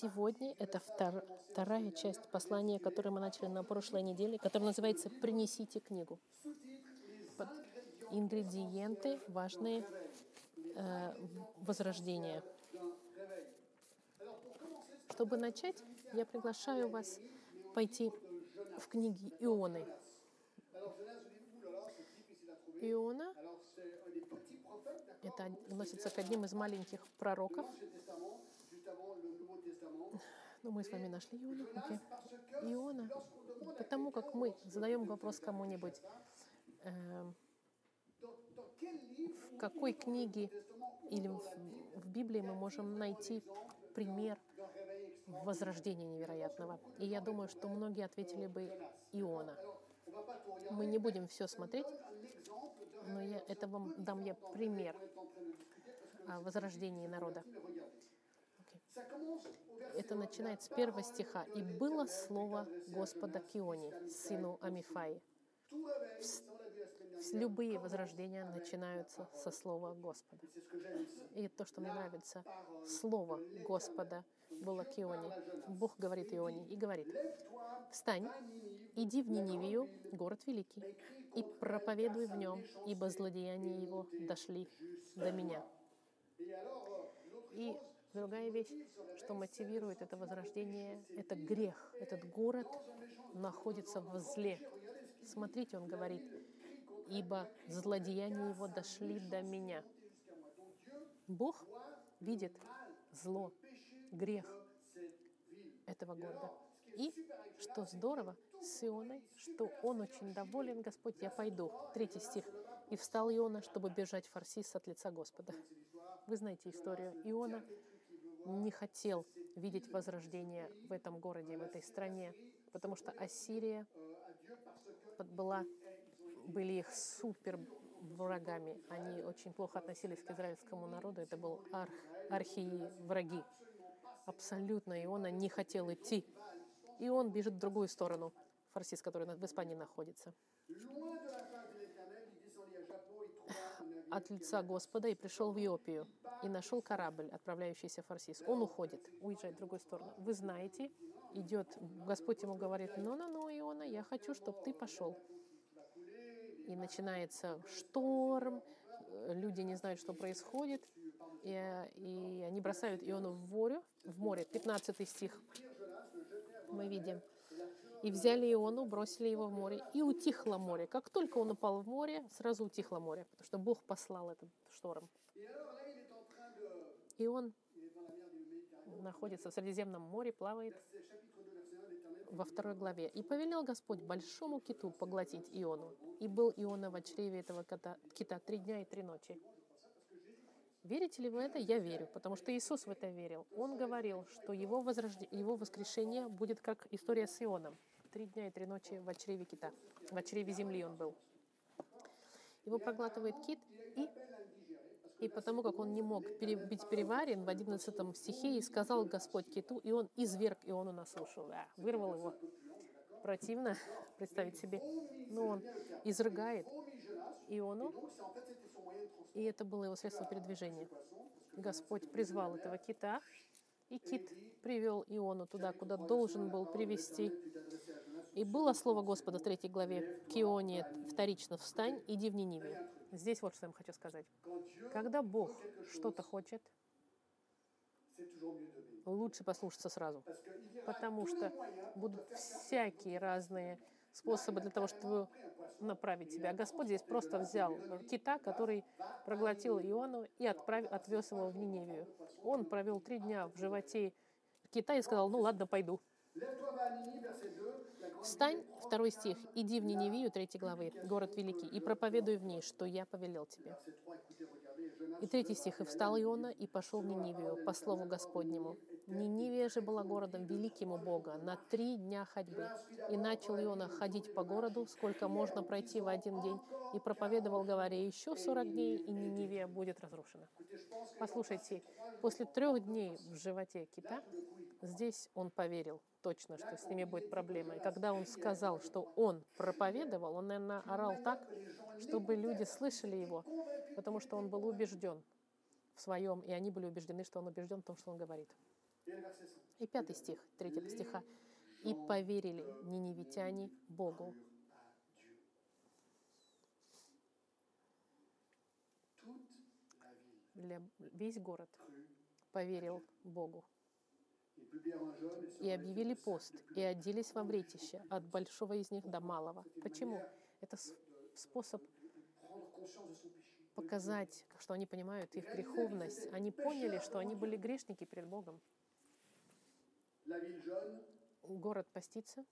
Сегодня это вторая часть послания, которое мы начали на прошлой неделе, которое называется «Принесите книгу». Ингредиенты важные возрождения. Чтобы начать, я приглашаю вас пойти в книги Ионы. Иона это относится к одним из маленьких пророков. Ну, мы с вами нашли Иону. Okay. Иона, потому как мы задаем вопрос кому-нибудь, в какой книге или в Библии мы можем найти пример возрождения невероятного. И я думаю, что многие ответили бы Иона. Мы не будем все смотреть, но дам я пример о возрождении народа. Это начинается с 1 стиха. «И было слово Господа к Ионе, сыну Амифаи». Любые возрождения начинаются со слова Господа. И то, что мне нравится, слово Господа было к Ионе. Бог говорит Ионе и говорит: «Встань, иди в Нинивию, город великий, и проповедуй в нем, ибо злодеяния его дошли до меня». И другая вещь, что мотивирует это возрождение, это грех. Этот город находится в зле. Смотрите, он говорит: «Ибо злодеяния его дошли до меня». Бог видит зло, грех этого города. И, что здорово, с Ионой, что он очень доволен: «Господь, я пойду». 3 стих. «И встал Иона, чтобы бежать Фарсис от лица Господа». Вы знаете историю. Иона не хотел видеть возрождение в этом городе, в этой стране, потому что Ассирия были их супер врагами. Они очень плохо относились к израильскому народу. Это был архи-враги. Абсолютно Иона не хотел идти. И он бежит в другую сторону, Фарсис, который в Испании находится, от лица Господа, и пришел в Иопию, и нашел корабль, отправляющийся в Фарсис. Он уезжает в другую сторону. Вы знаете, Господь ему говорит: «Ну, Иона, я хочу, чтобы ты пошел». И начинается шторм, люди не знают, что происходит, и они бросают Иону в море. 15 стих мы видим. «И взяли Иону, бросили его в море, и утихло море». Как только он упал в море, сразу утихло море, потому что Бог послал этот шторм. И он находится в Средиземном море, плавает. Во 2 главе. «И повелел Господь большому киту поглотить Иону. И был Иона в чреве этого кита 3 дня и 3 ночи». Верите ли вы это? Я верю, потому что Иисус в это верил. Он говорил, что его воскрешение будет как история с Ионом. 3 дня и 3 ночи в чреве кита. В чреве земли он был. Его проглатывает кит, и потому как он не мог быть переварен, в 11 стихе, и сказал Господь киту, и он изверг Иону на сушу. Вырвал его. Противно представить себе. Но он изрыгает Иону, и это было его средство передвижения. Господь призвал этого кита, и кит привел Иону туда, куда должен был привести. «И было слово Господа» в 3 главе к Ионе вторично: «Встань, иди в Нинивию». Здесь вот что я вам хочу сказать. Когда Бог что-то хочет, лучше послушаться сразу, потому что будут всякие разные способы для того, чтобы направить тебя. А Господь здесь просто взял кита, который проглотил Иону, и отвез его в Ниневию. Он провел 3 дня в животе кита и сказал: «Ну ладно, пойду». «Встань», 2 стих, «иди в Ниневию», 3 главы, город великий, «и проповедуй в ней, что я повелел тебе». И 3 стих, «И встал Иона, и пошел в Нинивию, по слову Господнему. Нинивия же была городом великим у Бога, на 3 дня ходьбы. И начал Иона ходить по городу, сколько можно пройти в 1 день, и проповедовал, говоря: еще 40 дней, и Нинивия будет разрушена». Послушайте, после 3 дней в животе кита, здесь он поверил точно, что с ними будет проблема. И когда он сказал, что он проповедовал, он, наверное, орал так, чтобы люди слышали его, потому что он был убежден в своем, и они были убеждены, что он убежден в том, что он говорит. И 5 стих, 3 стиха. «И поверили ниневитяне Богу». Весь город поверил Богу. И объявили пост, и оделись во вретище, от большого из них до малого. Почему? Это способ показать, что они понимают их греховность. Они поняли, что они были грешники перед Богом. Город постится.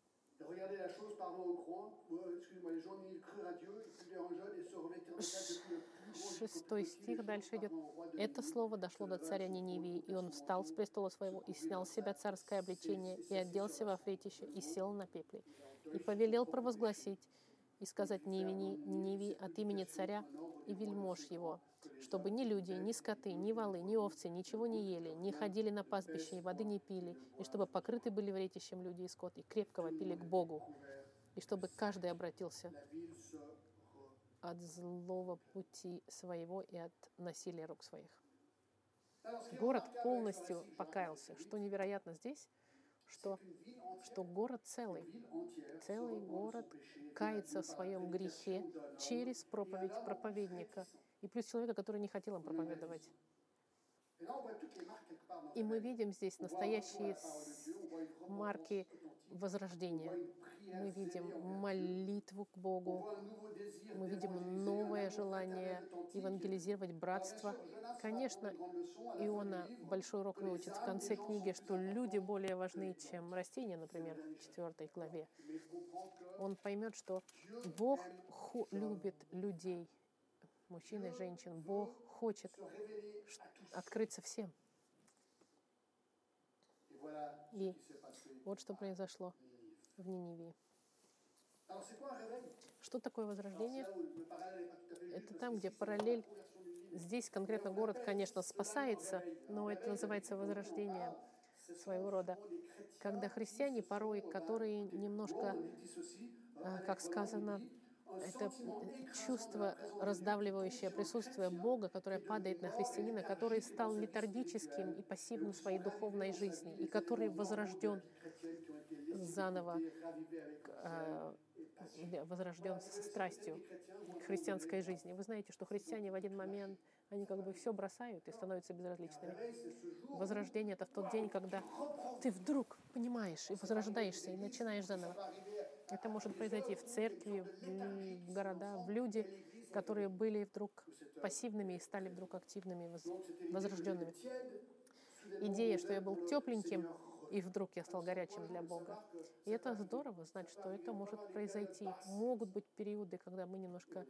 6 стих дальше идет. Это слово дошло до царя Ниневии, и он встал с престола своего, и снял с себя царское облечение, и оделся во фретище, и сел на пепле. И повелел провозгласить, и сказать Ниневии от имени царя и вельмож его, чтобы ни люди, ни скоты, ни волы, ни овцы ничего не ели, не ходили на пастбище, и воды не пили, и чтобы покрыты были вретищем люди и скот, и крепко вопили к Богу, и чтобы каждый обратился от злого пути своего и от насилия рук своих. Город полностью покаялся. Что невероятно здесь, что город целый город кается в своем грехе через проповедь проповедника. И плюс человека, который не хотел им проповедовать. И мы видим здесь настоящие марки возрождения. Мы видим молитву к Богу. Мы видим новое желание евангелизировать братство. Конечно, Иона большой урок выучит в конце книги, что люди более важны, чем растения, например, в 4 главе. Он поймет, что Бог любит людей, мужчин и женщин. Бог хочет открыться всем. И вот что произошло в Ниневии. Что такое возрождение? Это там, где параллель. Здесь конкретно город, конечно, спасается, но это называется возрождение своего рода. Когда христиане порой, которые немножко, как сказано, это чувство, раздавливающее присутствие Бога, которое падает на христианина, который стал летаргическим и пассивным в своей духовной жизни, и который возрожден заново, возрожден со страстью к христианской жизни. Вы знаете, что христиане в один момент, они как бы все бросают и становятся безразличными. Возрождение — это в тот день, когда ты вдруг понимаешь и возрождаешься, и начинаешь заново. Это может произойти в церкви, в города, в люди, которые были вдруг пассивными и стали вдруг активными, возрожденными. Идея, что я был тепленьким, и вдруг я стал горячим для Бога. И это здорово знать, что это может произойти. Могут быть периоды, когда мы немножко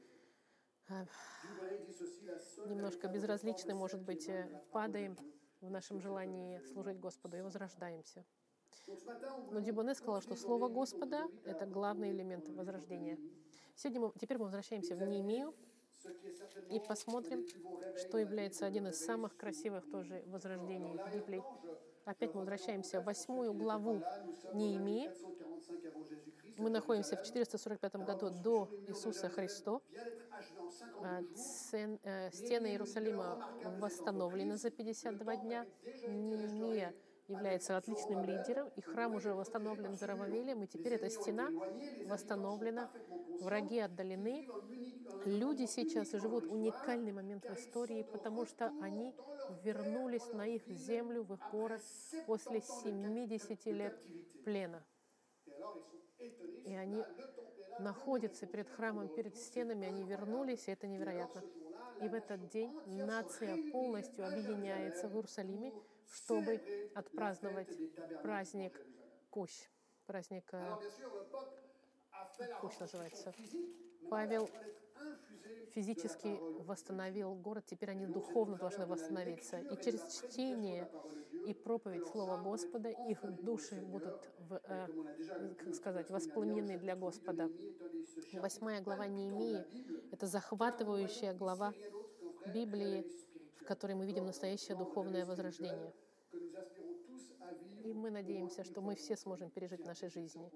безразличны, может быть, падаем в нашем желании служить Господу и возрождаемся. Но Дюбоне сказал, что Слово Господа — это главный элемент возрождения. Теперь мы возвращаемся в Неемию и посмотрим, что является одним из самых красивых тоже возрождений в Библии. Опять мы возвращаемся в 8 главу Неемии. Мы находимся в 445 году до Иисуса Христа. Стены Иерусалима восстановлены за 52 дня. Неемия является отличным лидером, и храм уже восстановлен Зоровавелем, и теперь эта стена восстановлена, враги отдалены. Люди сейчас живут уникальный момент в истории, потому что они вернулись на их землю, в их город после 70 лет плена. И они находятся перед храмом, перед стенами, они вернулись, и это невероятно. И в этот день нация полностью объединяется в Иерусалиме, чтобы отпраздновать праздник Кущ. Праздник Кущ называется. Павел физически восстановил город, теперь они духовно должны восстановиться. И через чтение и проповедь Слова Господа их души будут, воспламенены для Господа. 8 глава Неемии — это захватывающая глава Библии, в которой мы видим настоящее духовное возрождение. И мы надеемся, что мы все сможем пережить в нашей жизни,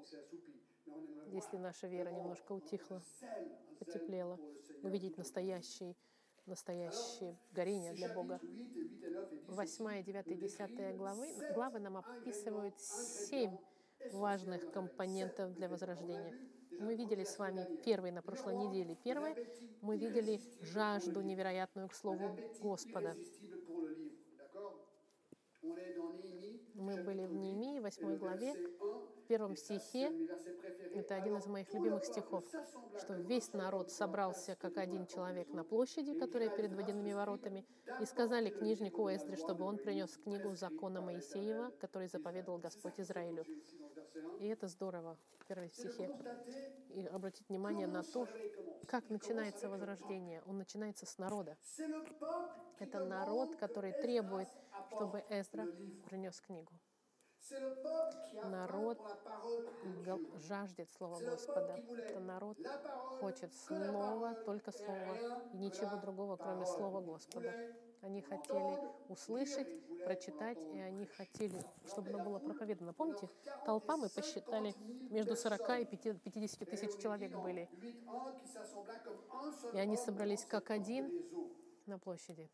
если наша вера немножко утихла, потеплела, увидеть настоящий настоящее горение Ces для Бога. chapitres 8 et 9 et 10 8, 9, 10 главы нам описывают 7 важных компонентов для возрождения. Мы видели с вами первый на прошлой неделе. Первое, мы видели жажду невероятную к Слову Господа. Мы были в Неемии, 8 главе, в 1 стихе. Это один из моих любимых стихов, что весь народ собрался как один человек на площади, которая перед водяными воротами, и сказали книжнику Эздре, чтобы он принес книгу закона Моисеева, который заповедовал Господь Израилю. И это здорово в 1 стихе. И обратить внимание на то, как начинается возрождение. Он начинается с народа. Это народ, который требует, чтобы Эздра принес книгу. Народ жаждет Слова Господа. Это народ хочет Слова, только Слова, и ничего другого, кроме Слова Господа. Они хотели услышать, прочитать, и они хотели, чтобы оно было проповедано. Помните, толпа, мы посчитали, между 40 и 50 тысяч человек были. И они собрались как один на площади.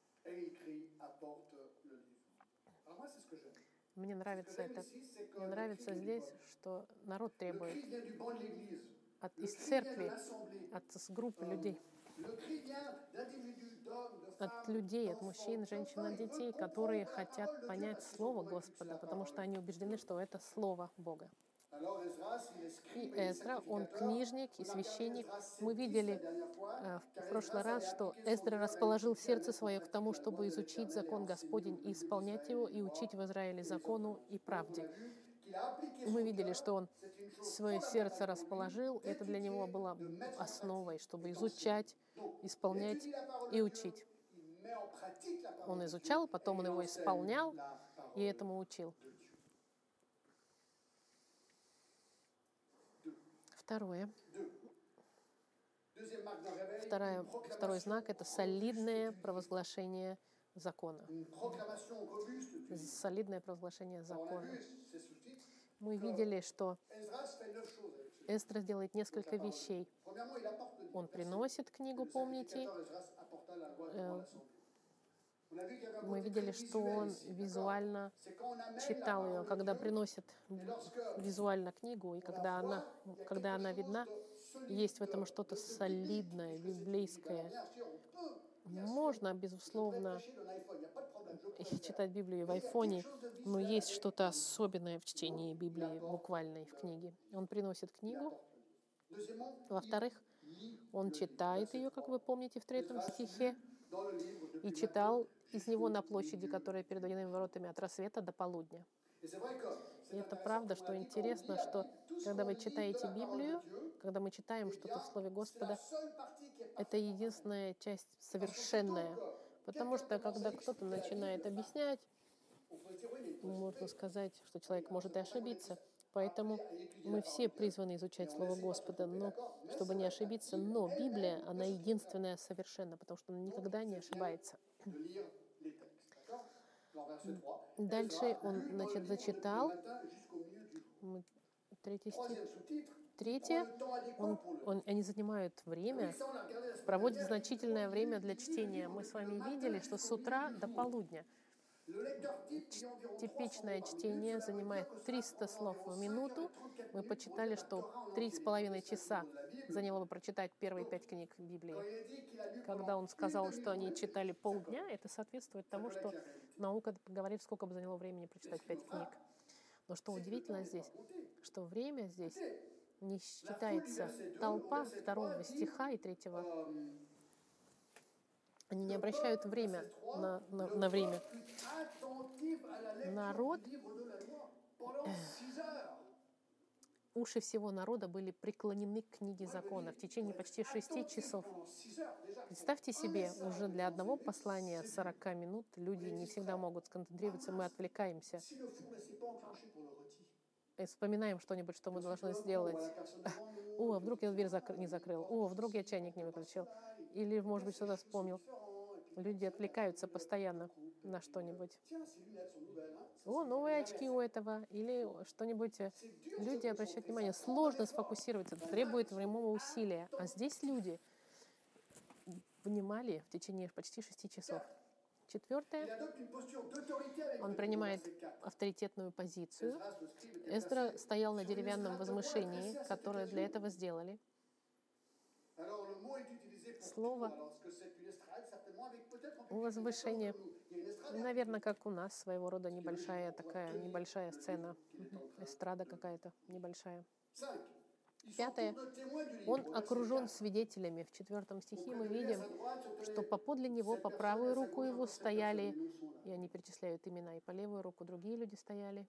Мне нравится это. Мне нравится здесь, что народ требует из церкви, от группы людей, от людей, от мужчин, женщин, от детей, которые хотят понять Слово Господа, потому что они убеждены, что это Слово Бога. И Эздра, он книжник и священник. Мы видели в прошлый раз, что Эздра расположил сердце свое к тому, чтобы изучить закон Господень и исполнять его, и учить в Израиле закону и правде. Мы видели, что он свое сердце расположил, и это для него было основой, чтобы изучать, исполнять и учить. Он изучал, потом он его исполнял и этому учил. Второй знак — это солидное провозглашение закона. Солидное провозглашение закона. Мы видели, что Эздра делает несколько вещей. Он приносит книгу, помните? Мы видели, что он визуально читал ее, когда приносит визуально книгу, и когда она видна, есть в этом что-то солидное, библейское. Можно, безусловно, читать Библию в айфоне, но есть что-то особенное в чтении Библии, буквальной в книге. Он приносит книгу. Во-вторых, он читает ее, как вы помните, в 3 стихе, и читал из него на площади, которая перед водяными воротами, от рассвета до полудня. И это правда, что интересно, что когда вы читаете Библию, когда мы читаем что-то в Слове Господа, это единственная часть совершенная. Потому что, когда кто-то начинает объяснять, можно сказать, что человек может и ошибиться. Поэтому мы все призваны изучать Слово Господа, но чтобы не ошибиться. Но Библия, она единственная совершенна, потому что она никогда не ошибается. Дальше он, зачитал. 3 стих. Третье, они занимают время, проводят значительное время для чтения. Мы с вами видели, что с утра до полудня типичное чтение занимает 300 слов в минуту. Мы почитали, что 3,5 часа заняло бы прочитать первые 5 книг Библии. Когда он сказал, что они читали полдня, это соответствует тому, что наука говорит, сколько бы заняло времени прочитать 5 книг. Но что удивительно здесь, что время здесь не считается. Толпа 2 стиха и 3. Они не обращают время на время. Народ, уши всего народа были преклонены к книге закона в течение почти 6 часов. Представьте себе, уже для одного послания 40 минут люди не всегда могут сконцентрироваться, мы отвлекаемся. И вспоминаем что-нибудь, что мы должны сделать. О, вдруг я дверь не закрыл. О, вдруг я чайник не выключил. Или, может быть, что-то вспомнил. Люди отвлекаются постоянно на что-нибудь. О, новые очки у этого. Или что-нибудь. Люди обращают внимание. Сложно сфокусироваться. Это требует временного усилия. А здесь люди внимали в течение почти 6 часов. Il Четвертое, adopte une posture d'autorité avec он eux. принимает Verset 4. авторитетную позицию. Esdras, le scribe, était Эздра placé стоял на sur une деревянном estrade de roi возвышении, dressée à cette которое для occasion. этого сделали. Alors le mot est utilisé pour Слово tout. Alors ce que c'est une estrade, certainement avec peut-être un public возвышение, comme nous. Il y a une estrade et un наверное, public. как у нас, своего рода Ce qui est небольшая logique pour pouvoir такая, tenir небольшая le сцена, livre qu'il est en train эстрада de- какая-то небольшая. 5. Ils Пятое, s'entourent de témoins du он livre. Au verset окружен 4. свидетелями. В 4 стихе мы Auprès de lui, à видим, sa droite, se что tenaient поподле него, 7 по personnes, правую et à sa руку gauche его encore 7 personnes. стояли, Les noms sont là. и они перечисляют имена, и по левую руку другие люди стояли.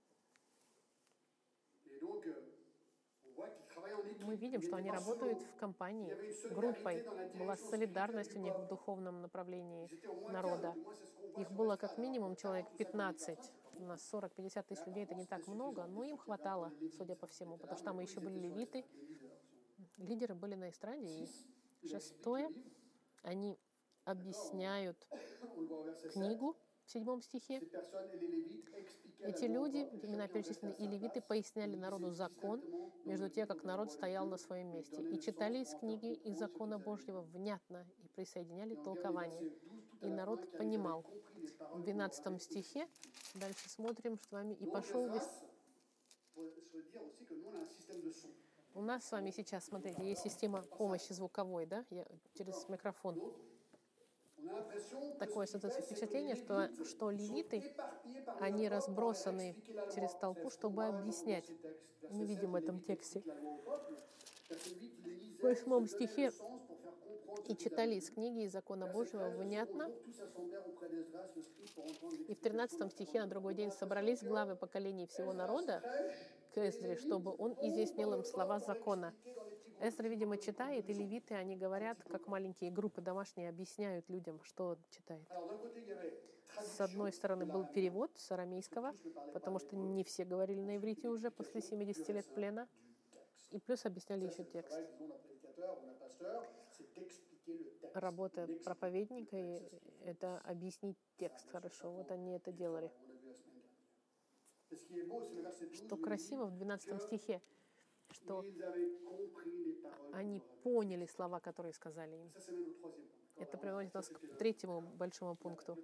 Et donc, on voit qu'ils travaillent en équipe. Мы видим, Ils что n'étaient они pas работают solos. в Il y компании, avait une solidarité группой. dans la Была direction солидарность у spirituelle du них в peuple. духовном направлении Ils étaient au moins 15, народа. du moins c'est ce qu'on voit Их sur было l'estrade. как Alors, минимум 40 человек ou 50 000 15. personnes, c'est pas У beaucoup. нас 40-50 тысяч людей, это не так много, но им хватало, судя по всему, потому что там еще были левиты, лидеры были на эстраде. И 6, они объясняют On le voit au verset 7. книгу в 7 стихе. Ces personnes et les Lévites expliquaient Эти la loi au люди, peuple, et имена chacun перечислены, restait и à sa левиты place. поясняли Ils народу lisaient закон, distinctement dans между le тем, livre как de la народ loi de стоял Dieu, на своем et месте. donnaient И le читали sens из pour en книги faire и comprendre ce закона qu'ils avaient Божьего lu. внятно и присоединяли Et on regarde le толкование. verset 12 tout à И la народ fin, car ils avaient понимал. compris les В paroles qu'on leur 12 avait стихе, expliquées. дальше смотрим с вами, и Donc, пошел весь... Esdras, faut se dire aussi que nous, on a un système de son. У нас с вами сейчас, смотрите, есть система помощи звуковой, да, через микрофон. Donc, on a l'impression que Такое ce qu'il fait, создается c'est que впечатление, les что Lévites sont левиты, éparpillés par они l'Europe pour leur разбросаны expliquer la через loi. толпу, C'est ce qu'on чтобы voit dans объяснять. ces textes. Мы Verset 7, видим в les этом Lévites тексте. expliquent la loi au peuple. Verset 8, ils lisaient, В 8 ils se donnaient стихе le sens pour faire comprendre ce и qu'ils читали avaient из lu. книги и закона Verset Божьего 13, au внятно. jour, tous s'assemblèrent auprès d'Esdras, le scribe, pour entendre И в l'explication de 13 la стихе на parole. другой On a день l'impression собрались que главы поколений всего Esdras народа prêche, к Эздре, чтобы он изъяснил им слова закона. expliquer dans les petits groupes. Эздра, видимо, читает, и левиты, они говорят, как маленькие группы домашние, объясняют людям, что он читает. Alors, d'un côté, il y avait С одной стороны, был перевод с арамейского, потому что не все говорили на иврите уже после 70 лет плена, и плюс объясняли еще текст. Работа проповедника — это объяснить текст хорошо. Вот они это делали. Что красиво в 12 стихе, что они поняли слова, которые сказали им. Это приводит нас к 3 большому пункту.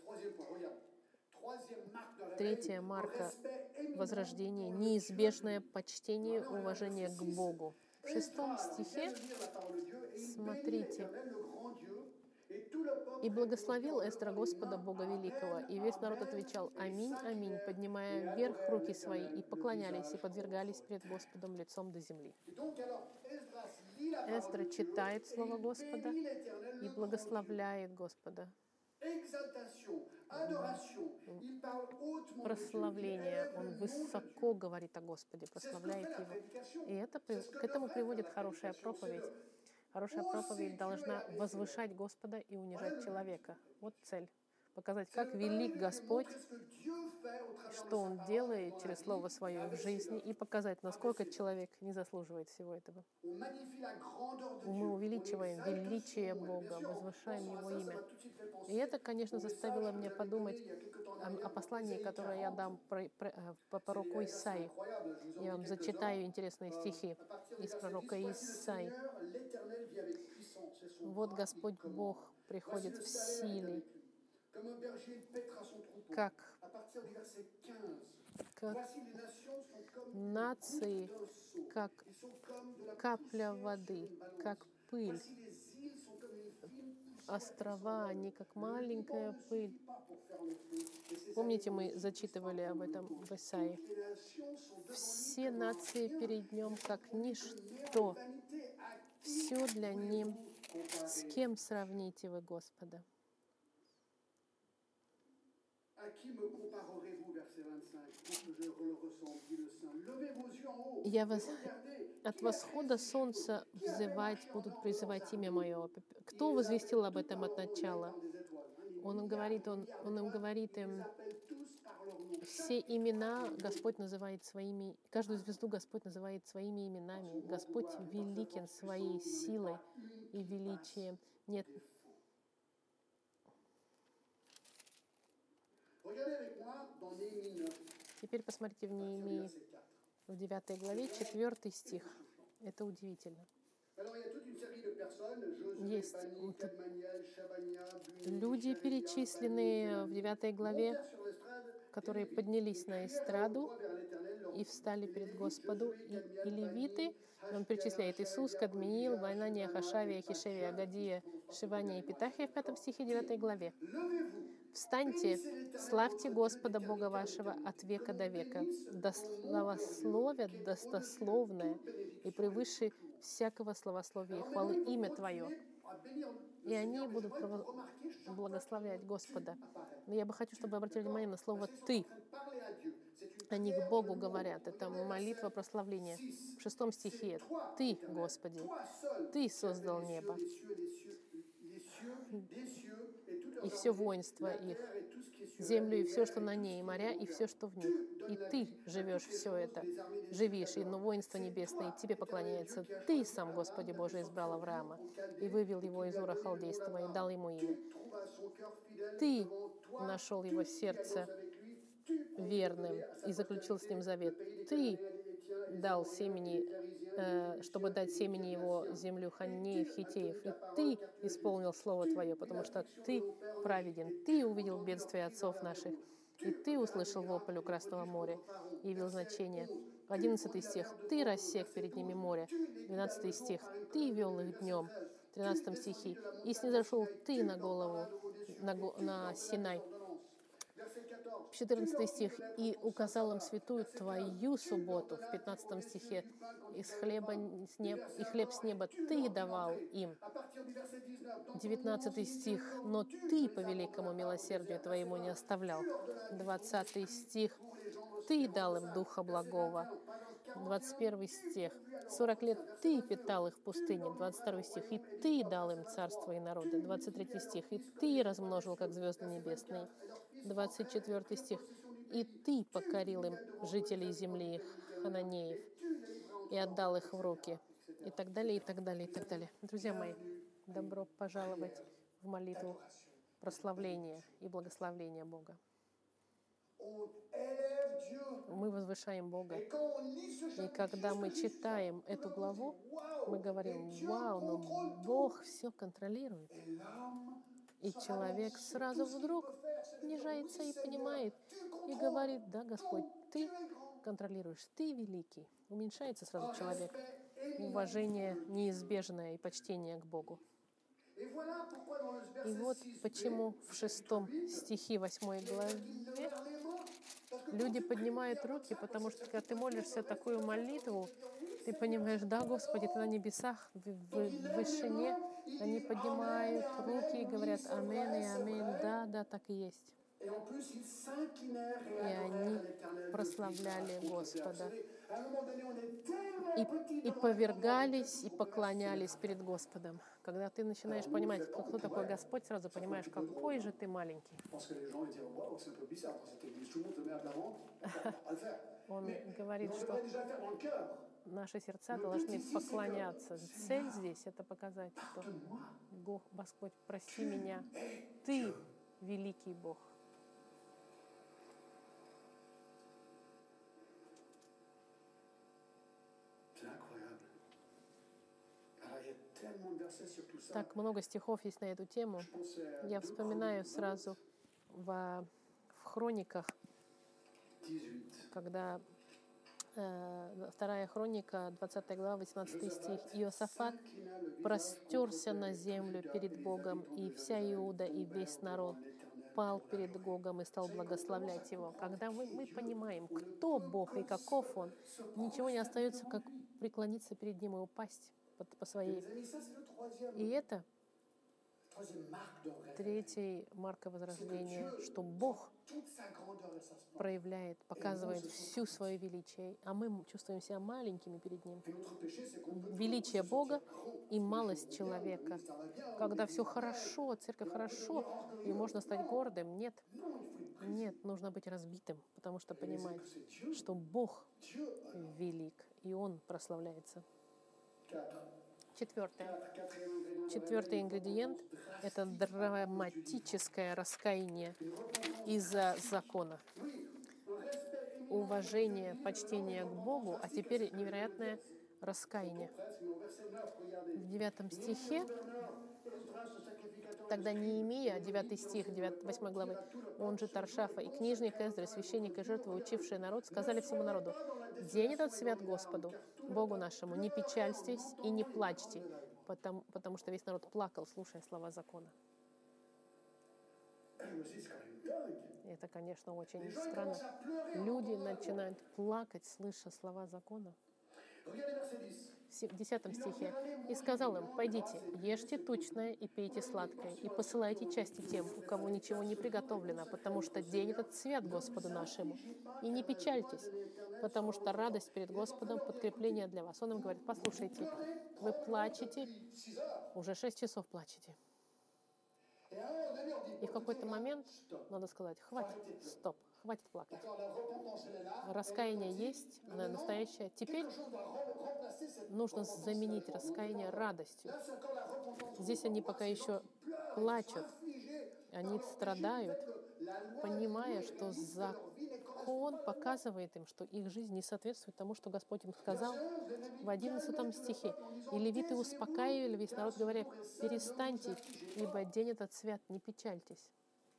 3 марка возрождения — неизбежное почтение, уважение к Богу. В 6 стихе, смотрите, «И благословил Эздра Господа Бога Великого, и весь народ отвечал: Аминь, аминь, поднимая вверх руки свои, и поклонялись, и подвергались пред Господом лицом до земли». Эздра читает Слово Господа и благословляет Господа. Прославление. Он высоко говорит о Господе, прославляет Его. И к этому приводит хорошая проповедь. Хорошая проповедь должна возвышать Господа и унижать человека. Вот цель. Показать, как велик Господь, что Он делает через Слово Свое в жизни, и показать, насколько человек не заслуживает всего этого. Мы увеличиваем величие Бога, возвышаем Его имя. И это, конечно, заставило меня подумать о послании, которое я дам по пророку Исаии. Я вам зачитаю интересные стихи из пророка Исаии. «Вот Господь Бог приходит в силе, как нации, как капля воды, как пыль. Острова, они как маленькая пыль». Помните, мы зачитывали об этом в Исаии. «Все нации перед Ним как ничто, все для Ним. С кем сравните вы Господа?» «Я вас от восхода солнца взывать будут призывать имя Мое». Кто возвестил об этом от начала? Он им говорит им, все имена Господь называет своими, каждую звезду Господь называет своими именами. Господь великин своей силой и величием. Нет. Теперь посмотрите в Неемии, в 9 главе, 4 стих. Это удивительно. Есть люди, перечисленные в 9 главе, которые поднялись на эстраду и встали перед Господу, и левиты, он перечисляет Иисус, Кадмиил, Вайнания, Хашавия, Хишевия, Агадия, Шивания и Питахия в 5 стихе 9 главе. «Встаньте, славьте Господа Бога вашего от века до века, да славословят достословное и превыше всякого славословия и хвалы имя Твое». И они будут благословлять Господа. Но я бы хочу, чтобы вы обратили внимание на слово «ты». Они к Богу говорят. Это молитва прославления. В 6 стихе «Ты, Господи, Ты создал небо и все воинство их, землю и все, что на ней, и моря, и все, что в них. И Ты живешь все это, живишь, и воинство небесное Тебе поклоняется. Ты сам, Господи Боже, избрал Авраама и вывел его из Ура Халдейского и дал ему имя. Ты нашел его сердце верным и заключил с ним завет. Ты дал семени, чтобы дать семени его землю Ханнеев, Хитеев. И Ты исполнил слово Твое, потому что Ты праведен. Ты увидел бедствия отцов наших, и Ты услышал вопль у Красного моря и явил значение. 11 стих. Ты рассек перед ними море. 12 стих. Ты вел их днем. 13 стихе. И снизошел Ты на голову, на Синай. 14 стих. «И указал им святую Твою субботу». В 15 стихе. «И хлеб с неба Ты давал им». 19 стих. «Но Ты по великому милосердию Твоему не оставлял». 20 стих. «Ты дал им Духа Благого». 21 стих. 40 лет Ты питал их в пустыне. 22 стих. «И Ты дал им царство и народы». 23 стих. «И Ты размножил, как звезды небесные». 24 стих. «И Ты покорил им жителей земли их, хананеев, и отдал их в руки». И так далее, и так далее, и так далее. Друзья мои, добро пожаловать в молитву прославления и благословления Бога. Мы возвышаем Бога. И когда мы читаем эту главу, мы говорим: «Вау, но Бог все контролирует». И человек сразу вдруг понижается и понимает, и говорит: «Да, Господь, Ты контролируешь, Ты великий». Уменьшается сразу человек. Уважение неизбежное и почтение к Богу. И вот почему в 6 стихе 8 главе люди поднимают руки, потому что когда ты молишься такую молитву, ты понимаешь: да, Господи, Ты на небесах, в вышине. Они поднимают руки и говорят: «Амен» и «Аминь». Да, да, так и есть. И они прославляли Господа. И повергались, и поклонялись перед Господом. Когда ты начинаешь понимать, кто такой Господь, сразу понимаешь, какой же ты маленький. Он говорит, что наши сердца должны поклоняться. Цель здесь — это показать, что Господь, прости меня, Ты великий Бог. Так много стихов есть на эту тему. Я вспоминаю сразу в Хрониках, когда 2 Хроника, 20 глава, 18 стих. «Иосафат простерся на землю перед Богом, и вся Иуда, и весь народ пал перед Богом и стал благословлять Его». Когда мы понимаем, кто Бог и каков Он, ничего не остается, как преклониться перед Ним и упасть по своей. И это третий марка возрождения, что Бог проявляет, показывает всю свое величие, а мы чувствуем себя маленькими перед Ним. Величие Бога и малость человека. Когда все хорошо, церковь хорошо, и можно стать гордым. Нет, нужно быть разбитым, потому что понимать, что Бог велик, и Он прославляется. Четвертый ингредиент — это драматическое раскаяние из-за закона. Уважение, почтение к Богу, а теперь невероятное раскаяние. Presque, mais au verset 9, regardez. В 9 стихе, Le gouverneur Esdras, ce sacrificateur, тогда Неемия, 9 стих 8 главы, он же Таршафа, и книжник Эздра, священник и жертвы, учивший народ, сказали всему народу: «День этот свят Господу, Богу нашему, не печальтесь и не плачьте», потому что весь народ плакал, слушая слова закона. je me suis dit, c'est quand même dingue. И это, конечно, очень Les gens ils странно. commencent à pleurer en Люди entendant la loi. начинают плакать, слыша слова закона. Regardez verset 10. В 10 стихе. «И сказал им: пойдите, ешьте тучное и пейте сладкое, и посылайте части тем, у кого ничего не приготовлено, потому что день этот свят Господу нашему. И не печальтесь, потому что радость перед Господом — подкрепление для вас». Он им говорит: послушайте, вы плачете, 6 heures. уже 6 часов плачете. Et à un moment donné, on dit, И в какой-то момент stop. надо сказать: хватит, стоп, хватит плакать. D'accord, la repentance, elle est là. Раскаяние есть, оно настоящее. Теперь Quelque chose doit remplacer cette нужно repentance. заменить раскаяние радостью. Là, c'est encore la repentance. Здесь они пока еще плачут, они страдают, понимая, что закон показывает им, что их жизнь не соответствует тому, что Господь им сказал. В 11 стихе. «И левиты успокаивали весь народ, говоря: перестаньте, ибо день этот свят, не печальтесь».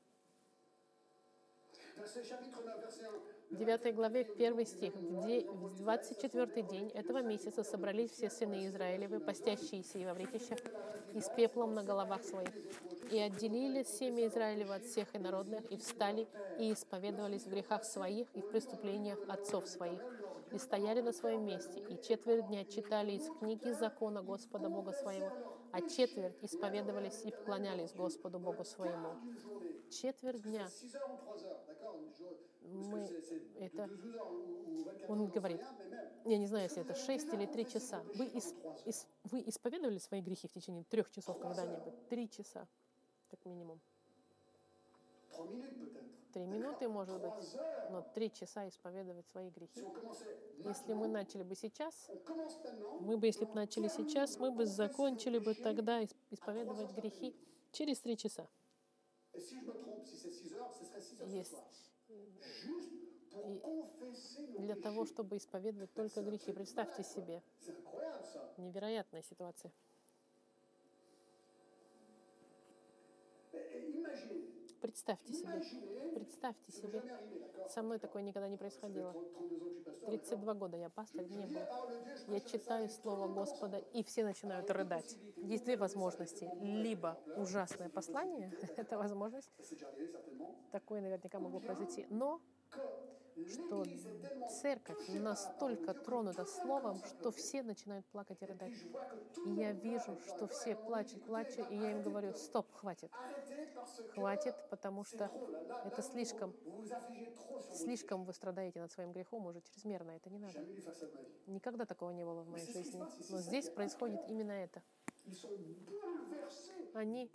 В 9 главе 1 стих. В 24-й день этого месяца собрались все сыны Израилевы, постящиеся и во вретищах, и с пеплом на головах своих. И отделили семя Израилева от всех инородных, и встали, и исповедовались в грехах своих и в преступлениях отцов своих. И стояли на своем месте, и четверть дня читали из книги закона Господа Бога своего, а четверть исповедовались и поклонялись Господу Богу своему. Четверть дня. Это, он говорит, я не знаю, если это 6 или 3 часа. Вы исповедовали свои грехи в течение 3 часов когда-нибудь? 3 часа, как минимум. 3 минуты, может быть, но 3 часа исповедовать свои грехи. Если мы начали бы сейчас, если бы начали сейчас, мы бы закончили бы тогда исповедовать грехи через 3 часа. И для того, чтобы исповедовать только грехи. Представьте себе. Невероятная ситуация. Представьте себе. Со мной такое никогда не происходило. 32 года я пастырь, не было. Я читаю Слово Господа, и все начинают рыдать. Есть 2 возможности. Либо ужасное послание, это возможность, такое наверняка могло произойти, но что церковь настолько тронута Словом, что все начинают плакать и рыдать. И я вижу, что все плачут, и я им говорю: стоп, хватит. Хватит, потому что это слишком вы страдаете над своим грехом уже чрезмерно, это не надо. Никогда такого не было в моей жизни. Но здесь происходит именно это. Они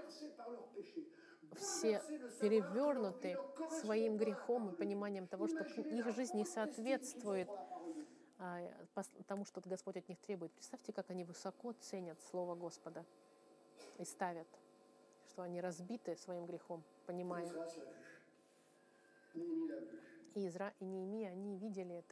все перевернуты своим грехом и пониманием того, что их жизнь не соответствует тому, что Господь от них требует. Представьте, как они высоко ценят Слово Господа и ставят, что они разбиты своим грехом, понимая. И Изра, и Неемия, они видели это.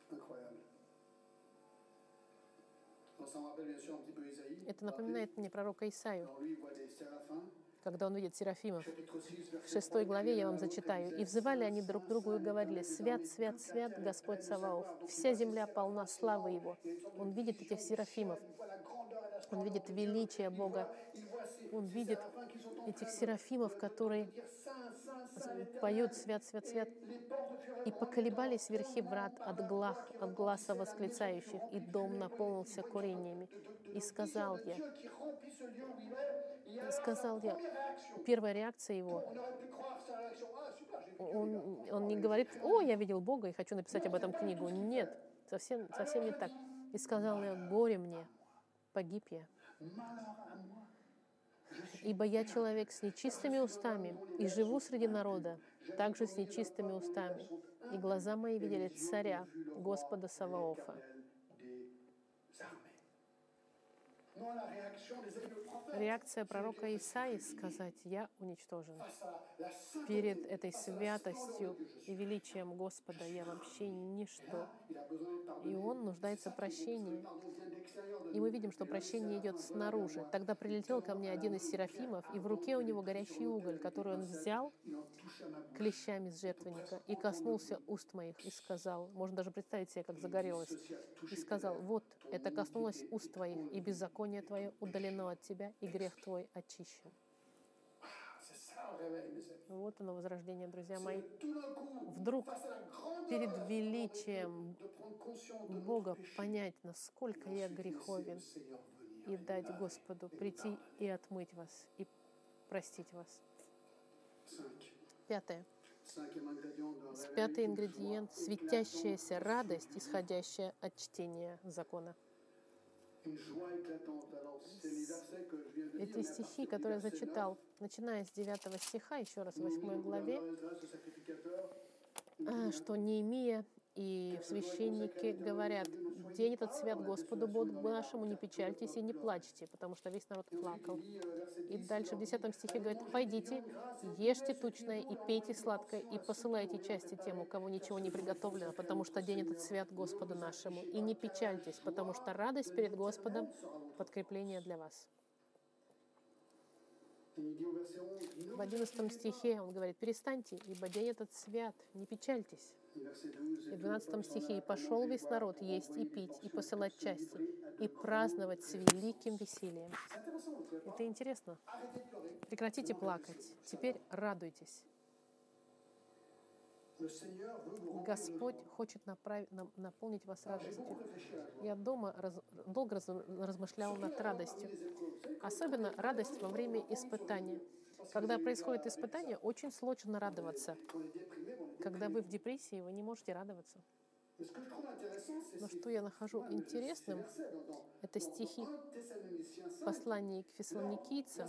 Это напоминает мне пророка Исаию, когда он видит серафимов. В 6 главе я вам зачитаю. «И взывали они друг к другу и говорили: свят, свят, свят Господь Саваоф, вся земля полна славы Его». Он видит этих серафимов, он видит величие Бога, он видит этих серафимов, которые поют «Свят, свят, свят». «И поколебались верхи врат от гласа восклицающих, и дом наполнился курениями. И сказал я», первая реакция его, он не говорит: «О, я видел Бога и хочу написать об этом книгу». Нет, совсем не так. «И сказал я: горе мне, погиб я. Ибо я человек с нечистыми устами, и живу среди народа, также с нечистыми устами. И глаза мои видели царя, Господа Саваофа». Maintenant, la réaction des amis du prophète, Реакция пророка Исаии сказать: «Я уничтожен». face à la Перед sainteté, этой face à la splendeur святостью de Dieu, je и suis. величием Господа я вообще Et ничто. là, il a besoin d'être И pardonné. он C'est нуждается в ça qui est beau, parce que le прощении. pardon vient de l'extérieur de И мы nous. видим, что Et là, c'est à прощение la идет fin, voilà vers снаружи. moi. Тогда Il прилетел ко tend мне à la один main из une pierre серафимов, и в ardente руке у qu'il avait него prise sur горящий l'autel уголь, avec des который он pincettes. взял Il en toucha ma bouche. клещами с On peut жертвенника presque и entendre le коснулся bruit. уст моих и сказал, можно даже представить себе, как Et il dit, загорелось, ceci a и touché tes сказал: lèvres. вот, Ton это коснулось iniquité уст est твоих, и enlevée, беззаконие et твое ton удалено péché от тебя, и грех expié. твой очищен. C'est ça le réveil, mes amis. Вот оно, возрождение, друзья мои. C'est tout d'un coup, Вдруг face à la grandeur перед de величием prendre conscience de notre Бога péché. понять, Et насколько я ensuite laisser le греховен, Seigneur venir и et nous дать laver Господу et nous прийти pardonner. и отмыть вас, и простить вас. 5. Пятое. Cinquième ingrédient d'un réveil, Пятый une ингредиент — joie светящаяся éclatante радость, de исходящая от чтения закона. Une joie éclatante. Alors, c'est les versets que je viens de Эти dire, mais à стихи, partir du которые я verset 9, зачитал, начиная с 9 стиха, еще раз в nous 8 le главе, gouverneur Esdras, le sacrificateur, il dit, что Неемия и священники говорят: «День этот свят Господу Богу нашему, не печальтесь и не плачьте», потому что весь народ плакал. И дальше в 10 стихе говорит: «Пойдите, ешьте тучное и пейте сладкое, и посылайте части тем, у кого ничего не приготовлено, потому что день этот свят Господу нашему. И не печальтесь, потому что радость перед Господом — подкрепление для вас». В 11 стихе он говорит: «Перестаньте, ибо день этот свят, не печальтесь». И в 12 стихе: «И пошел весь народ есть и пить, и посылать части, и праздновать с великим весельем». Это интересно. Прекратите плакать, теперь радуйтесь. Господь хочет наполнить вас радостью. Я дома долго размышлял над радостью. Особенно радость во время испытания. Когда происходит испытание, очень сложно радоваться. Когда вы в депрессии, вы не можете радоваться. Но что я нахожу интересным, это стихи послания к фессалоникийцам.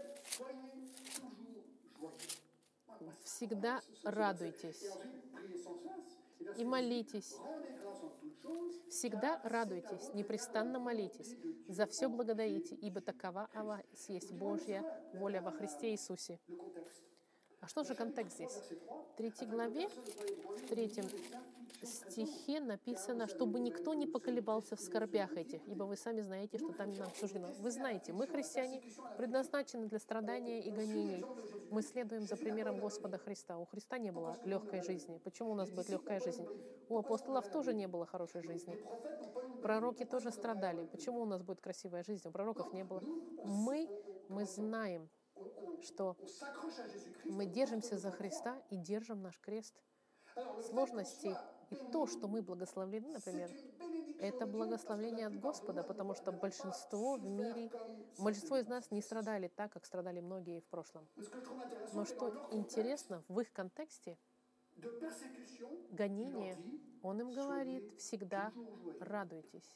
«Всегда радуйтесь и молитесь. Всегда радуйтесь, непрестанно молитесь, за все благодарите, ибо такова о вас есть Божья воля во Христе Иисусе». А что же контекст здесь? В 3 главе, в 3 стихе написано, чтобы никто не поколебался в скорбях этих, ибо вы сами знаете, что там нам суждено. Вы знаете, мы, христиане, предназначены для страдания и гонений. Мы следуем за примером Господа Христа. У Христа не было легкой жизни. Почему у нас будет легкая жизнь? У апостолов тоже не было хорошей жизни. Пророки тоже страдали. Почему у нас будет красивая жизнь? У пророков не было. Мы знаем, что мы держимся за Христа и держим наш крест. Сложности и то, что мы благословлены, например, это благословение от Господа, потому что большинство в мире, большинство из нас не страдали так, как страдали многие в прошлом. Но что интересно, в их контексте гонения, он им говорит: всегда радуйтесь.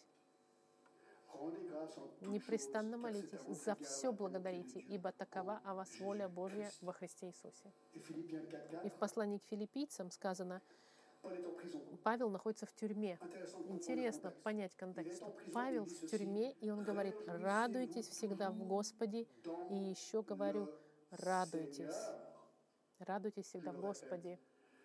Непрестанно молитесь, за все благодарите, ибо такова о вас воля Божья во Христе Иисусе. И в послании к филиппийцам сказано, Павел находится в тюрьме. Интересно понять контекст. Павел в тюрьме, и он говорит: радуйтесь всегда в Господе. И еще говорю, радуйтесь. Радуйтесь всегда в Господе.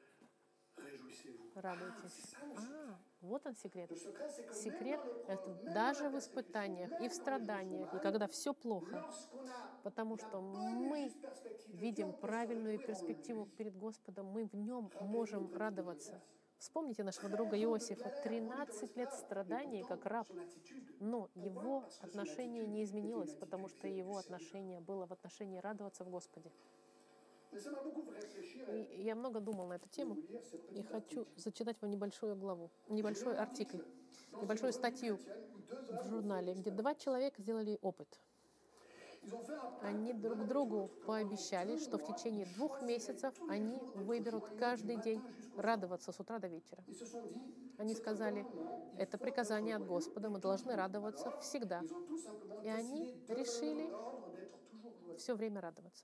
Радуйтесь. Вот он секрет. Секрет — это даже в испытаниях и в страданиях, и когда все плохо, потому что мы видим правильную перспективу перед Господом, мы в нем можем радоваться. Вспомните нашего друга Иосифа. 13 лет страданий как раб, но его отношение не изменилось, потому что его отношение было в отношении радоваться в Господе. И я много думал на эту тему, и хочу зачитать вам небольшую главу, небольшой артикль, небольшую статью в журнале, где 2 человека сделали опыт. Они друг другу пообещали, что в течение 2 месяцев они выберут каждый день радоваться с утра до вечера. Они сказали: это приказание от Господа, мы должны радоваться всегда. И они решили все время радоваться.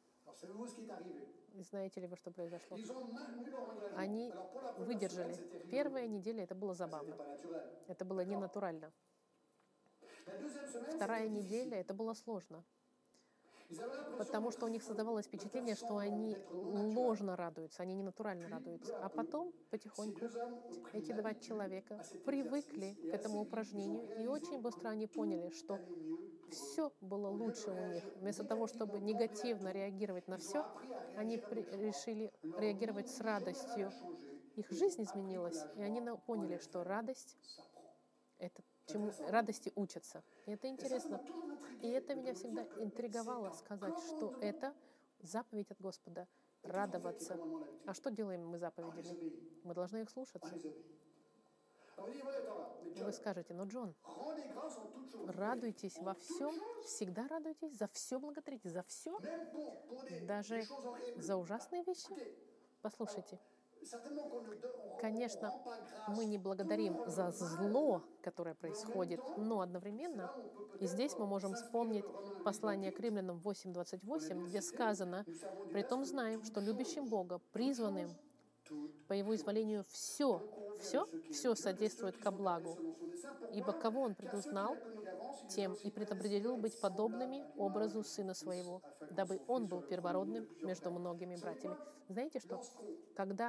И знаете ли вы, что произошло? Они выдержали. Первая неделя это было забавно. Это было ненатурально. La deuxième semaine, Вторая c'était неделя, difficile. это было сложно, Ils avaient l'impression потому что у них создавалось впечатление, что они ложно радуются, они не натурально радуются. А потом, ces потихоньку, deux hommes ont pris эти два l'habitude человека à cet привыкли exercice et к этому assez vite, ils ont упражнению, и réalisé очень быстро они que поняли, tout что allait mieux pour eux. все было Au lieu de лучше у них. réagir Вместо того, чтобы négativement, негативно réactivement, реагировать на ils ont все, appris à они réagir avec joie. решили Leur реагировать monde с général a радостью. changé. Их Ils жизнь ont appris que изменилась, la и они joie поняли, en что elle-même радость s'apprend. — это чему радости учатся. И это Et ça m'a интересно. toujours И intrigué это de меня me всегда dire que интриговало c'est un сказать, что commandement. это заповедь от Господа — Et qu'est-ce qu'on fait avec les радоваться. commandements d'habitude? А что делаем мы On les заповедями? obéit. Мы должны их On слушаться. les obéit. Alors vous dites, ouais, attends, là, mais Вы John, скажете: но, Джон, rendez grâce en toutes choses. радуйтесь En во toutes всем, choses, всегда радуйтесь, за все благодарите, за все, même pour des даже choses horribles. за ужасные вещи. Écoutez, Послушайте, certainement qu'on ne конечно, rend pas grâce мы не благодарим pour за le mal, зло, которое происходит, но одновременно, и здесь мы можем вспомнить послание к Римлянам 8:28, где сказано: «Притом знаем, что любящим Бога, призванным по Его изволению, все содействует ко благу, ибо кого Он предузнал, тем и предопределил быть подобными образу Сына Своего, дабы Он был первородным между многими братьями». Знаете что? Когда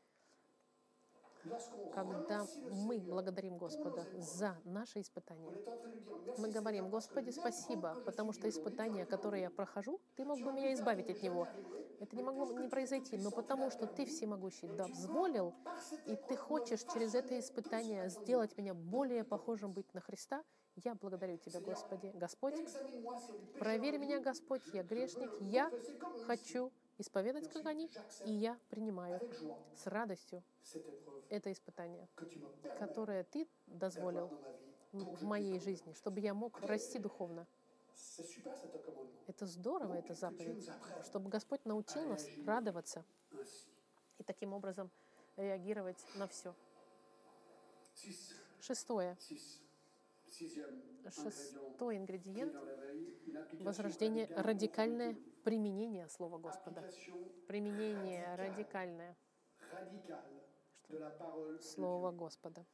мы благодарим Господа за наши испытания, мы говорим: «Господи, спасибо, потому что испытания, которые я прохожу, Ты мог бы меня избавить от него. Это не могло не произойти, но потому что Ты всемогущий дозволил, и Ты хочешь через это испытание сделать меня более похожим быть на Христа, я благодарю Тебя, Господи. Господь, проверь меня, Господь, я грешник, я хочу исповедать, как они, и я принимаю с радостью это испытание, которое Ты дозволил в моей жизни, чтобы я мог расти духовно». Это здорово, это заповедь, чтобы Господь научил нас радоваться и таким образом реагировать на все. Шестой ингредиент возрождения — радикальное применение Слова Господа. Применение радикальное Слова Господа.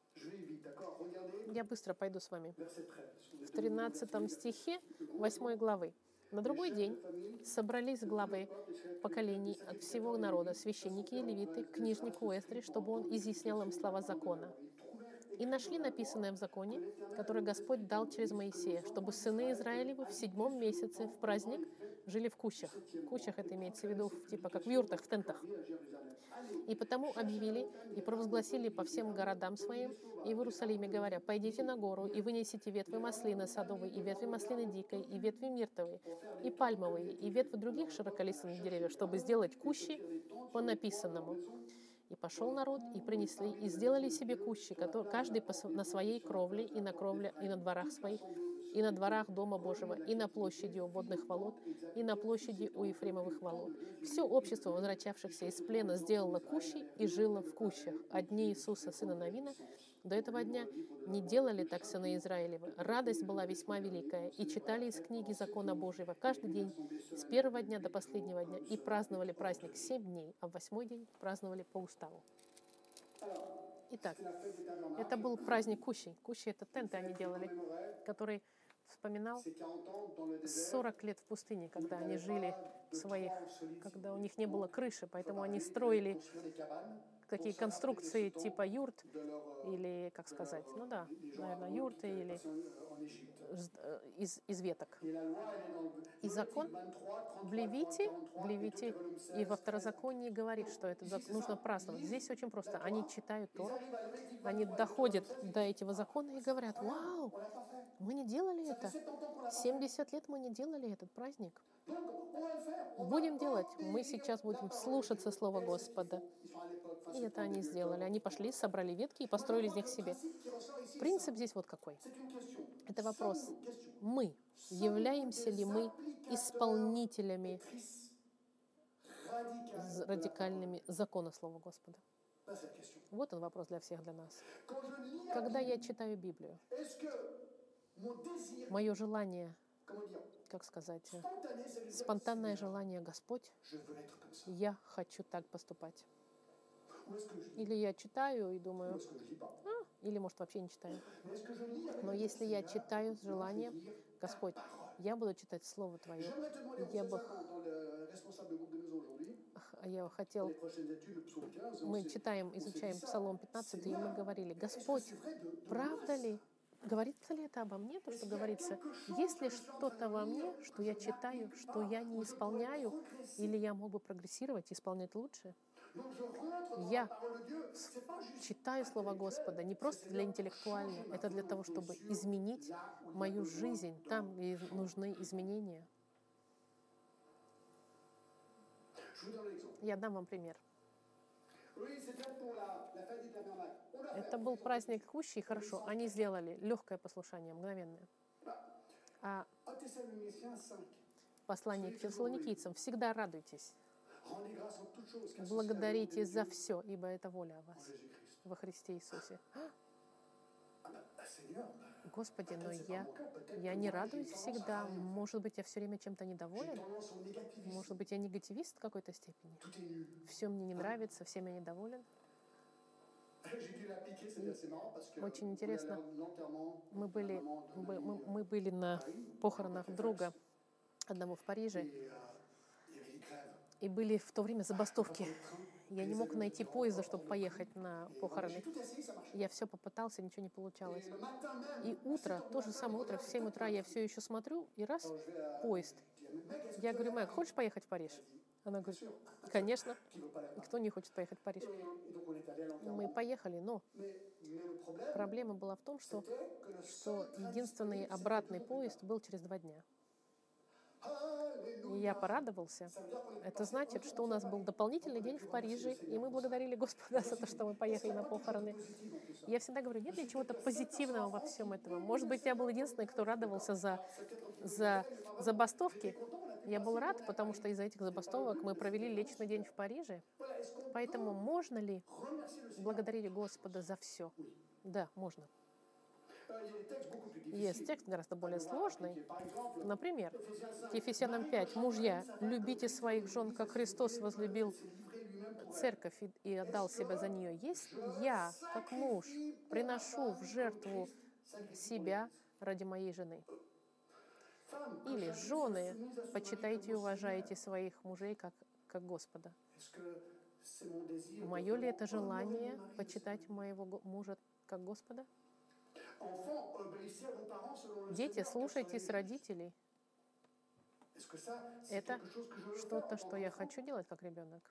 Я быстро пойду с вами. В 13 стихе 8 главы. На другой день собрались главы поколений от всего народа, священники и левиты, к книжнику Эстре, чтобы он изъяснял им слова закона. И нашли написанное в законе, который Господь дал через Моисея, чтобы сыны Израилевы в 7 месяце в праздник жили в кущах. В кущах это имеется в виду типа как в юртах, в тентах. И потому объявили и провозгласили по всем городам своим и в Иерусалиме, говоря: «Пойдите на гору и вынесите ветви маслины садовой, и ветви маслины дикой, и ветви миртовой, и пальмовые, и ветви других широколиственных деревьев, чтобы сделать кущи по написанному». И пошел народ, и принесли, и сделали себе кущи, каждый на своей кровле, и на дворах своих, и на дворах Дома Божьего, и на площади у водных волот, и на площади у Ефремовых волот. Все общество возвращавшихся из плена сделало кущи и жило в кущах. А дни Иисуса, сына Навина, до этого дня не делали так сыны Израилевы. Радость была весьма великая, и читали из книги закона Божьего каждый день, с первого дня до последнего дня, и праздновали праздник 7 дней, а в 8-й день праздновали по уставу. Итак, это был праздник кущей. Кущи — это тенты они делали, который вспоминал 40 лет в пустыне, когда они жили в своих, когда у них не было крыши, поэтому они строили такие конструкции типа юрт, или, как сказать, ну да, наверное, юрты или из веток. И закон в Левите и во Второзаконии говорит, что это нужно праздновать. Здесь очень просто. Они читают Тору, они доходят до этого закона и говорят: «Вау, мы не делали это. 70 лет мы не делали этот праздник. Будем делать. Мы сейчас будем слушаться Слова Господа». И это они сделали. Они пошли, собрали ветки и построили из них себе. Принцип здесь вот какой. Это вопрос. Мы, являемся ли мы исполнителями радикальными закона Слова Господа? Вот он вопрос для всех, для нас. Когда я читаю Библию, мое желание, как сказать, спонтанное желание: «Господь, я хочу так поступать». Или я читаю и думаю: Или, может, вообще не читаю. Mais est-ce que je lis avec Но un если я Seigneur, читаю с non, je vais желанием, lire Господь, ta parole. я буду читать Слово Твое. J'aimerais te demander, on Я fait бы ça dans le responsable de groupe de maison aujourd'hui, я pour хотел, les prochaines études, le psaume 15, мы on читаем, s'est dit изучаем ça. Псалом 15, и мы Seigneur, говорили, est-ce que Господь, c'est vrai de правда moi ça? ли? Говорится ли это обо мне, то, Est-ce что qu'il y a говорится? quelque chose Есть que ли je suis en train что-то de во lire, мне, что que я je читаю, n'applique что pas, я не où je pourrais исполняю, progresser? или я мог бы прогрессировать, исполнять лучше? Donc je rentre dans la Я parole de Dieu. C'est pas juste читаю Слово Господа не intellectuel, c'est просто для Seigneur, интеллектуально, change ma это для vie того, en чтобы fonction изменить là où il y a мою besoin жизнь там, где d'un нужны changement. изменения. Je vous donne un exemple. Я dам вам пример. Oui, c'était pour la fête du tabernacle. On a fait Это был праздник кущей, хорошо, они сделали легкое послушание, мгновенное. А 1 Thessaloniciens 5. послание к фессалоникийцам: всегда радуйтесь, Rendez grâce en toutes choses, car ceci est la volonté благодарите de за Dieu все, ибо это воля о en вас Jésus-Christ. во Христе Иисусе. Seigneur, Господи, но peut-être c'est pas mon cas, peut-être я que не moi, j'ai радуюсь tendance à всегда. rien faire. Может быть, я все время чем-то J'ai недоволен. tendance au négativisme. Может быть, я негативист в какой-то степени. Tout est nul. Все мне не нравится, всем я недоволен. J'ai dû l'appliquer, c'est assez marrant parce que Очень on voulait aller интересно. à l'enterrement Мы de la были, maman d'un ami, мы были на похоронах друга одного в Париже, et il y avait des grèves. и были в то время забастовки. Pas de train. Я не мог найти поезда, чтобы поехать на Et voilà, похороны. j'ai tout essayé, ça marchait. Я все попытался, ничего не получалось. Et le matin même, И утро, то же самое утро, в 7 утра я все еще смотрю, и раз, quand je vais à поезд. je dis à mes mecs, est-ce que Я tu говорю, veux Мэг, aller à хочешь поехать в Париж? Она говорит, конечно. Qui veut pas aller à И Paris. кто не хочет поехать в Париж? Et donc on est allé à Мы l'enterrement. поехали, но Mais le problème, проблема была в том, что c'était que le что seul train единственный disponible, c'était обратный 2 jours plus поезд tard. был через 2 дня. И Alléluia. я порадовался. Ça veut dire qu'on est Это passé значит, un что у jour нас был entier à Paris. дополнительный день в Париже, и мы благодарили Господа за то, что мы поехали на похороны. Я всегда говорю, нет ли чего-то позитивного во всем этом? Может быть, я был единственный, кто радовался за забастовки. Я был рад, потому что из-за этих забастовок мы провели личный день в Париже. Voilà, est-ce qu'on Поэтому можно ли remercier le Seigneur? благодарить Господа за все? Да, можно. Il y a des textes beaucoup plus Есть difficiles. текст гораздо более сложный. Par exemple, Например, Éphésiens 5. Ефесянам 5. Мужья, любите своих жен, как Христос возлюбил s'est livré lui-même pour elle. церковь и отдал себя за нее. Есть я, как муж, приношу в жертву себя ради моей жены. Femme, que Или chacune soit жены, soumise à son mari почитайте и comme au уважайте Seigneur. своих мужей как Господа. Est-ce que c'est mon désir de Мое ли это vraiment honorer mon желание mari, почитать моего мужа как Господа? Enfants, obéissez à vos parents selon le Дети, Seigneur, car слушайтесь soyez родителей. justes. Est-ce que ça, c'est Это quelque chose que je veux faire что-то, en что tant я qu'enfant? хочу делать как ребенок.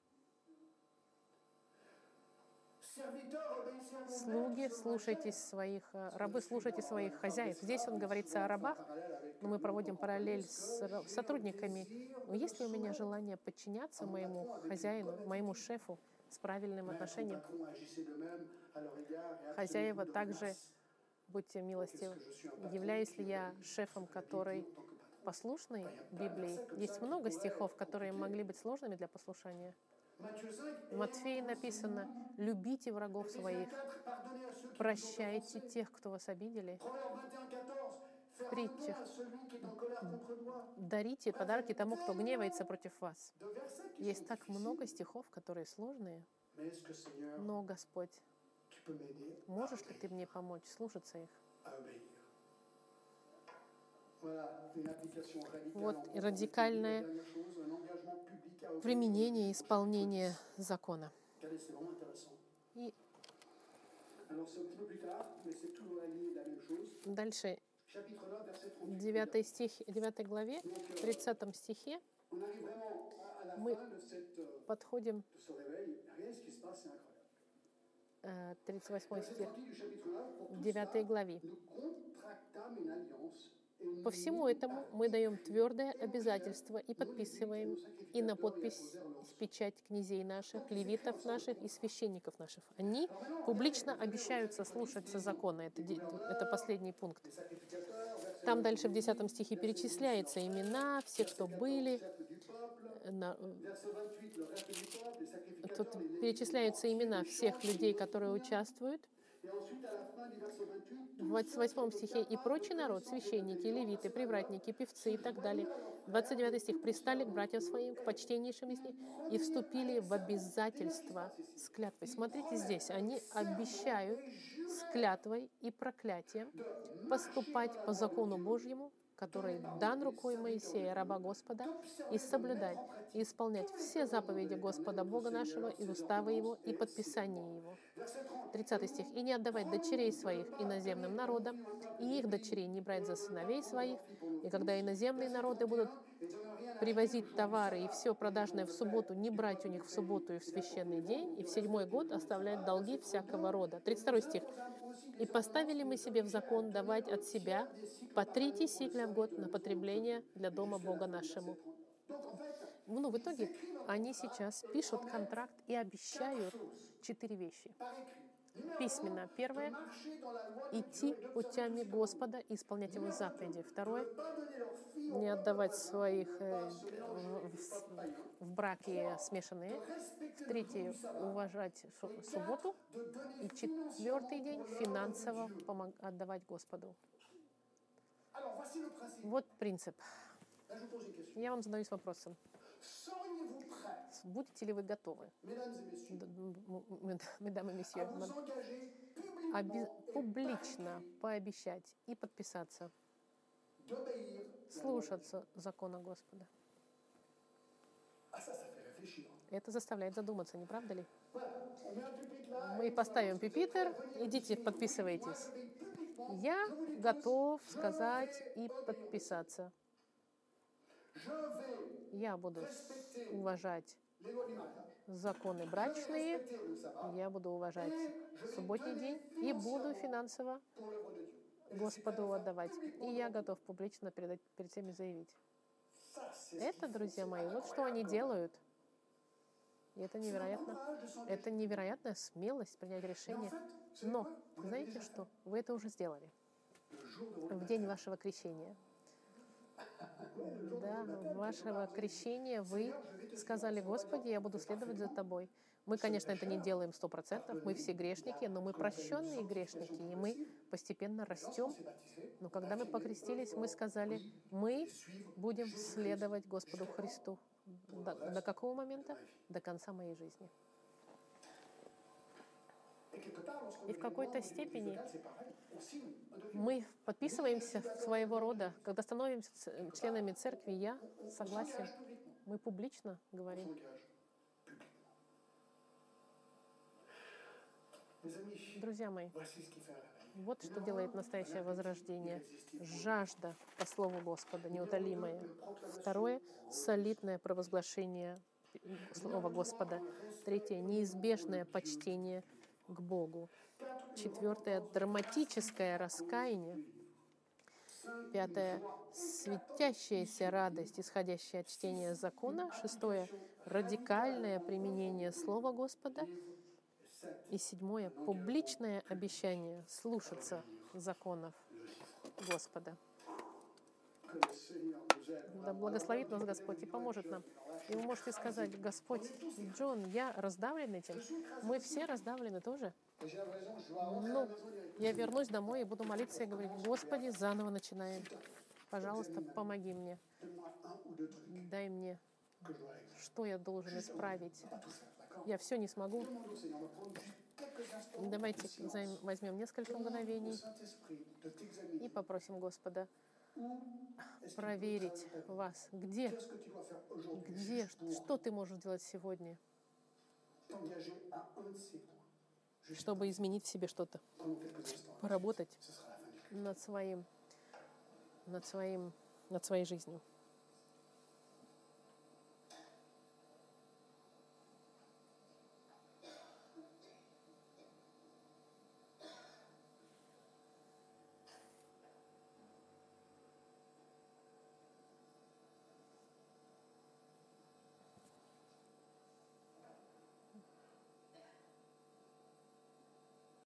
Serviteurs, obéissez à vos maîtres Слуги, selon la слушайтесь chair. своих, рабы, слушайте своих хозяев. Здесь он говорится о рабах, но мы проводим параллель с сотрудниками. Но есть ли у меня желание подчиняться моему хозяину, моему шефу с правильным отношением? Patron, agissez de même à leur égard et Хозяева abstenez-vous de также, menaces. будьте милостивы. Est-ce que je suis un patron Являюсь qui ли я obéit шефом, à la который Bible en tant que patron? послушный Библии? Есть много стихов, которые могли быть сложными для послушания. Matthieu 5, В Матфея написано: «Любите врагов своих, 4, pardonnez à ceux qui vous ont прощайте offensé. тех, кто вас обидели, Proverbe 21, 14, fais притчах. à celui qui est en colère contre toi. Дарите подарки тому, кто гневается против вас». De versets qui Есть sont так difficiles. много стихов, которые сложные. Mais est-ce que Seigneur, Но, Господь, tu peux m'aider можешь ли ты мне помочь слушаться их? à obéir? Voilà, une application radicale. Вот en conformité. радикальное La dernière chose, un engagement public à obéir. применение и исполнение закона. Regardez, c'est vraiment intéressant. И Alors, c'est un petit peu plus tard, mais c'est tout dans la ligne de la même chose. дальше, Chapitre 9, verset в 38. 9 главе, в 30 стихе On arrive vraiment à la Мы fin de подходим, de ce réveil. Rien ce qui se passe, c'est incroyable. 38 Verset стих, 30 du chapitre 9, pour в tout 9 cela, главе. nous contractâmes une alliance. Et nous По всему этому мы даем твердое обязательство и подписываем и на подпись с печать князей наших, левитов наших и священников наших. Они публично обещаются слушаться закона. Это последний пункт. les sacrificateurs, verset Там дальше в 10 стихе перечисляются имена всех, кто были. du peuple, На- verset 28, le reste du peuple, les Тут sacrificateurs, les перечисляются имена всех людей, которые участвуют. Et ensuite, à la fin du verset 28, В 28 стихе «И прочий народ, священники, левиты, привратники, певцы и так далее». 29 стих «Пристали к братьям своим, к почтеннейшим из них, и вступили в обязательство с клятвой». Смотрите здесь, они обещают с клятвой и проклятием поступать по закону Божьему, который дан рукой Моисея, раба Господа, и соблюдать и исполнять все заповеди Господа Бога нашего и уставы Его и подписания Его. 30 стих. «И не отдавать дочерей своих иноземным народам, и их дочерей не брать за сыновей своих, и когда иноземные народы будут привозить товары и все продажное в субботу, не брать у них в субботу и в священный день, и в 7-й год оставлять долги всякого рода». 32 стих. «И поставили мы себе в закон давать от себя по 3 сикля в год на потребление для дома Бога нашему». Ну, в итоге они сейчас пишут контракт и обещают 4 вещи. Письменно. Первое — идти путями Господа и исполнять Его заповеди. Второе — не отдавать своих в браке смешанные. В-третье — уважать субботу. И 4-й день — финансово отдавать Господу. Вот принцип. Я вам задаюсь вопросом. Будете ли вы готовы, mesdames et messieurs, публично пообещать и подписаться слушаться закона Господа? Это заставляет задуматься, не правда ли? Мы поставим пюпитр, идите, подписывайтесь. Я готов сказать и подписаться. Я буду уважать законы брачные, я буду уважать субботний день и буду финансово Господу отдавать. И я готов публично перед всеми заявить. Это, друзья мои, вот что они делают. И это невероятно. Это невероятная смелость принять решение. Но, знаете что? Вы это уже сделали. В день вашего крещения. Да, вашего крещения вы сказали: Господи, я буду следовать за Тобой. Мы, конечно, это не делаем 100%, мы все грешники, но мы прощенные грешники, и мы постепенно растем. Но когда мы покрестились, мы сказали: мы будем следовать Господу Христу. До какого момента? До конца моей жизни. И в какой-то степени мы подписываемся своего рода, когда становимся членами церкви, я согласен, мы публично говорим. Друзья мои, вот что делает настоящее возрождение. Жажда по Слову Господа, неутолимая. Второе — солидное провозглашение Слова Господа. Третье — неизбежное почтение к Богу. Четвертое — драматическое раскаяние. Пятое — светящаяся радость, исходящая от чтения закона. Шестое — радикальное применение Слова Господа. И седьмое — публичное обещание слушаться законов Господа. Да благословит нас Господь и поможет нам. И вы можете сказать: Господь, Джон, я раздавлен этим. Мы все раздавлены тоже. Но я вернусь домой и буду молиться и говорить: Господи, заново начинаем. Пожалуйста, помоги мне. Дай мне, что я должен исправить. Я все не смогу. Давайте возьмем несколько мгновений и попросим Господа проверить вас. Где, что ты можешь делать сегодня, чтобы изменить в себе что-то, поработать над своей жизнью.